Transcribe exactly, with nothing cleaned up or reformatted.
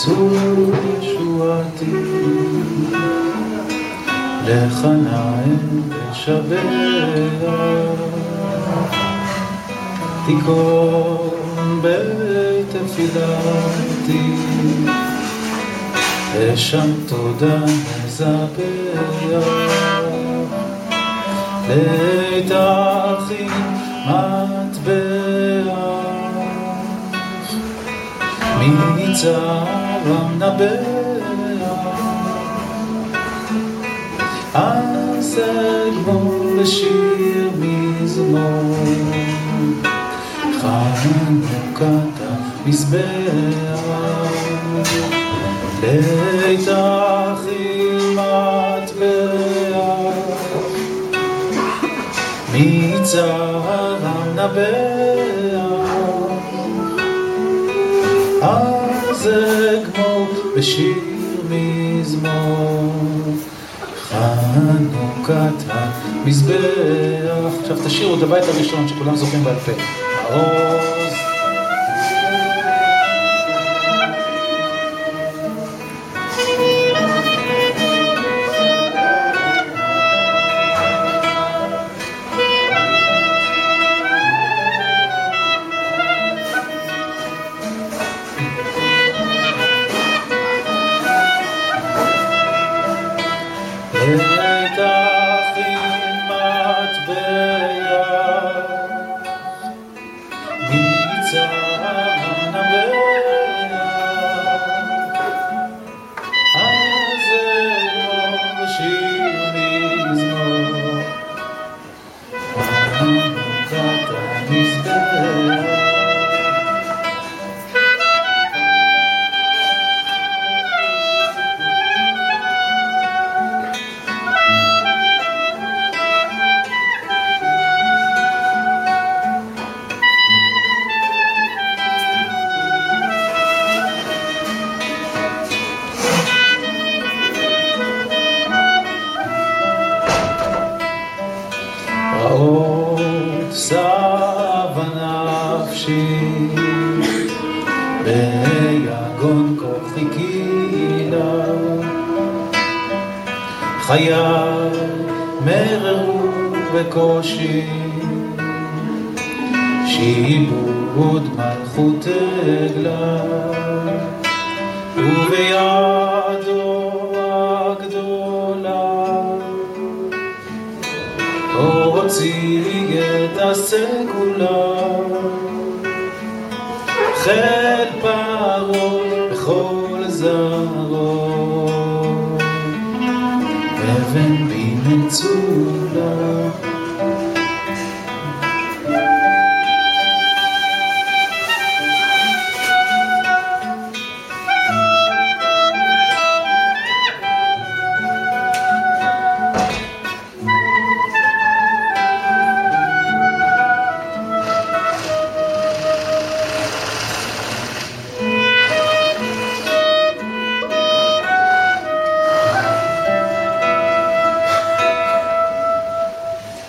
צור ישועתי, לך נעים ושבח, תיקון בית תפילתי, ושם תודה נזבח, להתאחים מטבח, מצרם נבח, אז אגמור בשיר מזמור, חנוכת המזבח, להתאחים מטבח, מצרם נבח, אז אגמור בשיר מזמור, חנוכת המזבח. עכשיו תשירו את הבית הראשון שכולם זוכרים בעל פה. מעוז ביגון כוחי קילה, חיי מררו וקושי, שיבוד מלכות עגלה, ובידו הגדולה הוציא את הסגולה, חל פרעה בכל זרעו, אבן בי נצור